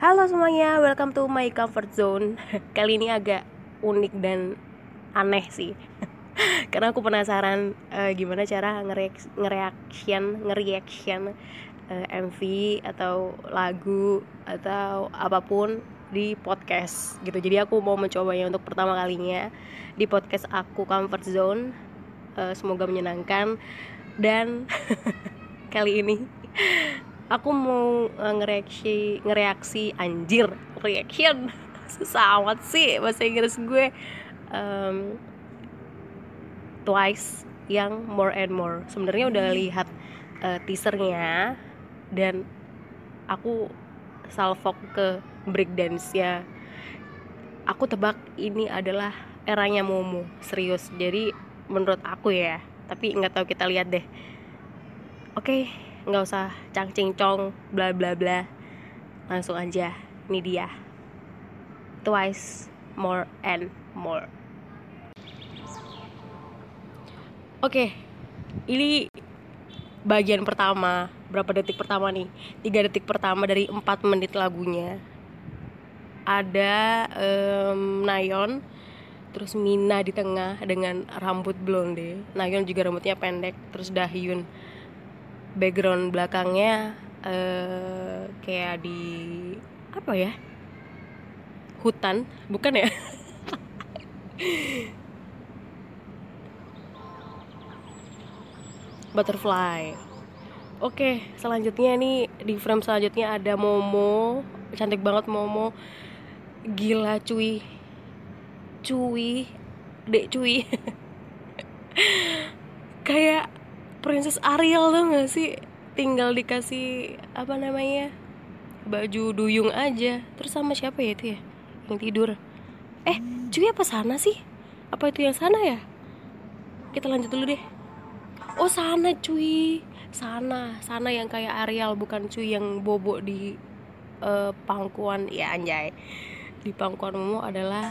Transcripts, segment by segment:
Halo semuanya, welcome to my comfort zone. Kali ini agak unik dan aneh sih. Karena aku penasaran gimana cara nge-reaction MV atau lagu atau apapun di podcast gitu. Jadi aku mau mencobanya untuk pertama kalinya di podcast aku Comfort Zone. Semoga menyenangkan. Dan kali ini aku mau ngereaksi anjir reaction susah amat sih bahasa Inggris gue. Twice yang More and More. Sebenarnya udah lihat teasernya dan aku salfok ke breakdance-nya. Aku tebak ini adalah eranya Momo, serius. Jadi menurut aku ya, tapi nggak tahu, kita lihat deh. Oke, nggak usah cang-cing-cong bla bla bla, langsung aja. Ini dia Twice More and More. Oke, ini bagian pertama. Berapa detik pertama nih? 3 detik pertama dari 4 menit lagunya. Ada Nayeon, terus Mina di tengah dengan rambut blonde. Nayeon juga rambutnya pendek. Terus Dahyun. Background belakangnya kayak di apa ya? Hutan, bukan ya? Butterfly. Oke, selanjutnya nih di frame selanjutnya ada Momo. Cantik banget Momo. Gila cuy. Dek cuy. Kayak Princess Ariel tuh gak sih? Tinggal dikasih apa namanya? Baju duyung aja. Terus sama siapa ya itu ya? Yang tidur. Cuy apa sana sih? Apa itu yang sana ya? Kita lanjut dulu deh. Oh sana cuy. Sana yang kayak Ariel, bukan cuy yang bobo di pangkuan. Ya anjay. Di pangkuan Momo adalah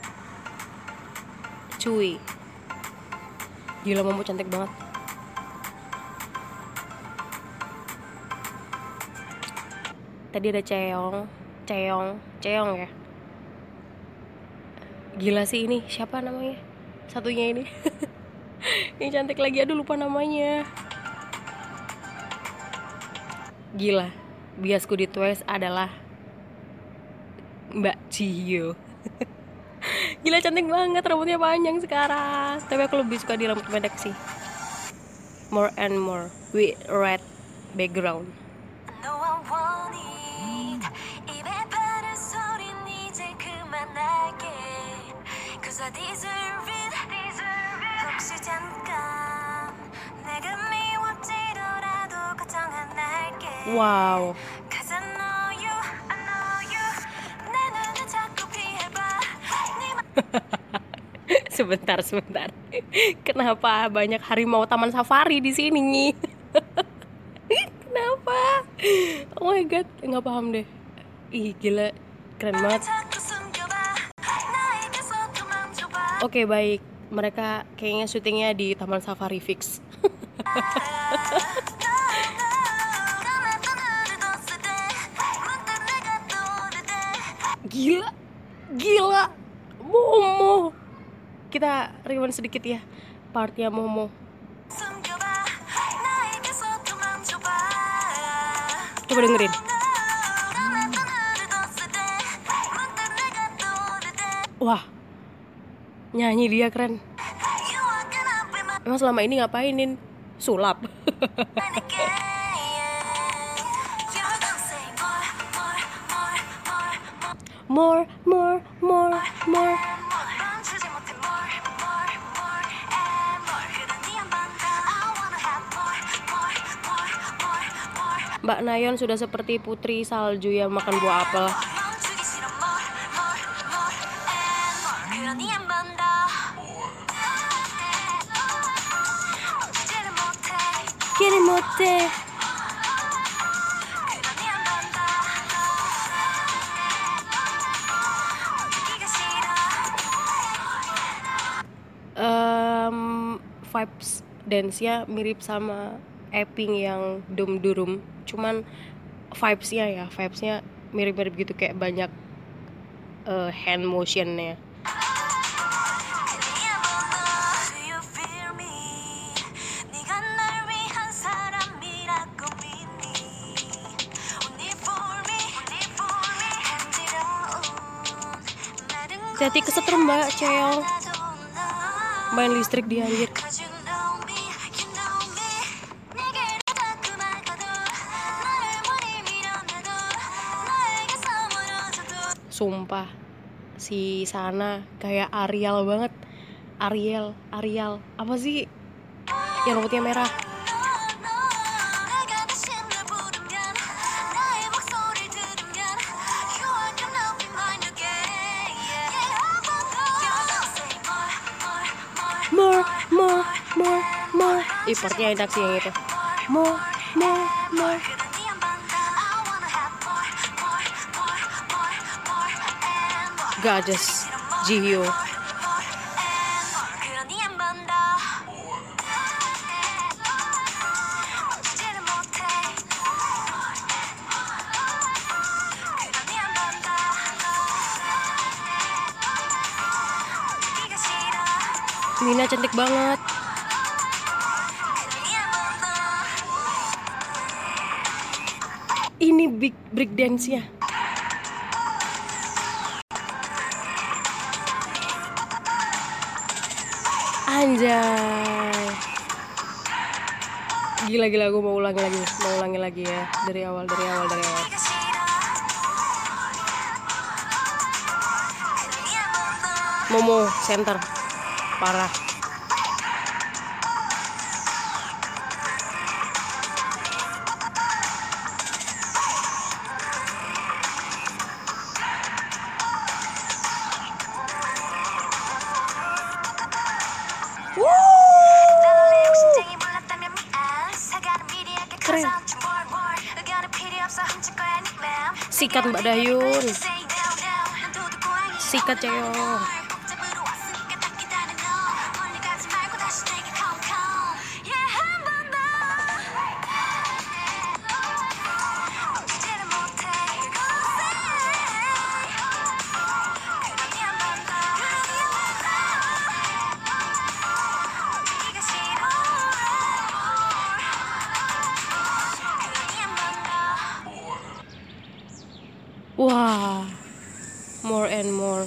cuy. Gila Momo cantik banget. Tadi ada Cheong ya. Gila sih ini, siapa namanya? Satunya ini. Ini cantik lagi, aduh lupa namanya. Gila, biasku di Twice adalah Mbak Jihyo. Gila cantik banget, rambutnya panjang sekarang. Tapi aku lebih suka di rambut pendek sih. More and More with red background. Wow. Sebentar. Kenapa banyak harimau taman safari di sini? Kenapa? Oh my god, nggak paham deh. Ih gila, keren banget. Oke baik, mereka kayaknya syutingnya di taman safari fix. Gila Momo. Kita rewind sedikit ya partnya Momo. Coba dengerin. Wah, nyanyi dia keren. Emang selama ini ngapainin? Sulap. More. Mbak Nayeon sudah seperti putri salju yang makan buah apel. Kirimote. Vibes dance-nya mirip sama Epping yang Dum Durum, cuman vibes-nya mirip-mirip gitu, kayak banyak hand motionnya. Hati kesetrum mbak Ceong, main listrik dia anjir. Sumpah si Sana kayak Ariel banget. Ariel apa sih yang rambutnya merah? More. Partnya enak sih yang itu. More. Goddess Jihyo. Mina cantik banget. Ini big break dance-nya. Anjay. Gila gue mau ulangi lagi ya dari awal. Momo center parah. Keren. Sikat Mbak Dayun. Sikat Ceong. Wah, more and more.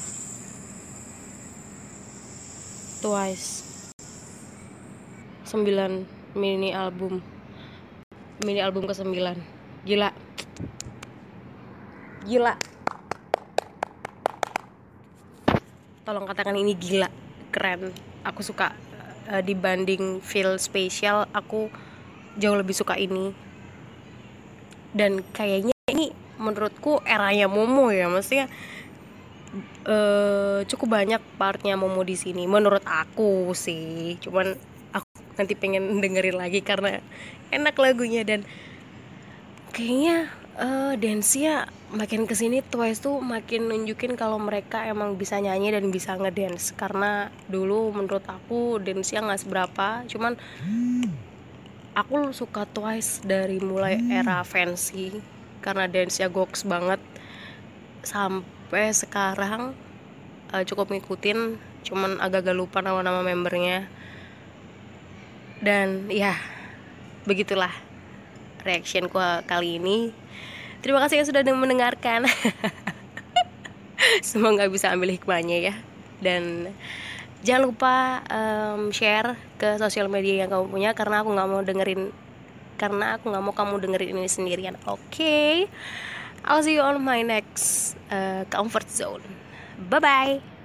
Twice 9 mini album ke-9. Gila. Tolong katakan ini gila, keren. Aku suka. Dibanding Feel Special, aku jauh lebih suka ini. Dan kayaknya ini menurutku eranya Momo ya, maksudnya cukup banyak partnya Momo di sini menurut aku sih. Cuman aku nanti pengen dengerin lagi karena enak lagunya. Dan kayaknya dance-nya makin kesini Twice tuh makin nunjukin kalau mereka emang bisa nyanyi dan bisa ngedance. Karena dulu menurut aku dance-nya nggak seberapa, cuman aku suka Twice dari mulai era Fancy karena dance-nya goks banget. Sampai sekarang cukup ngikutin, cuman agak-agak lupa nama-nama membernya. Dan ya, begitulah reactionku kali ini. Terima kasih yang sudah mendengarkan. Semoga bisa ambil hikmahnya ya. Dan jangan lupa share ke sosial media yang kamu punya, karena aku nggak mau kamu dengerin ini sendirian. Oke. I'll see you on my next comfort zone. Bye bye.